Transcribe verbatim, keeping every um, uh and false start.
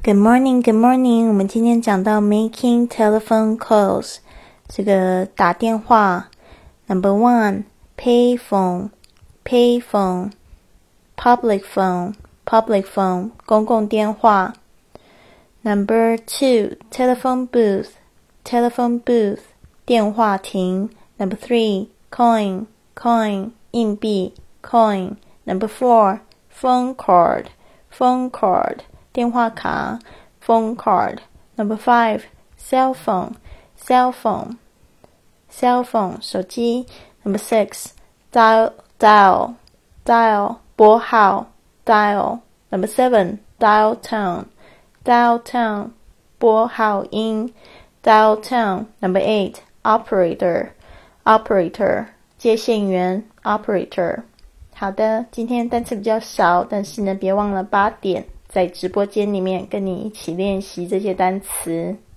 Good morning, good morning. 我们今天讲到 making telephone calls， 这个打电话。Number one, pay phone, pay phone, public phone, public phone, 公共电话。Number two, telephone booth, telephone booth, 电话亭。Number three, coin, coin, 硬币 coin. Number four, phone card, phone card, 电话卡 phone card. Number five, cell phone, cell phone, cell phone, 手机。Number six, dial, dial, dial, 拨号 dial. Number seven, dial tone, dial tone, 拨号音 dial tone. Number eight, operator, operator, 接线员 operator. 好的，今天单词比较少，但是呢，别忘了八点在直播间里面跟你一起练习这些单词。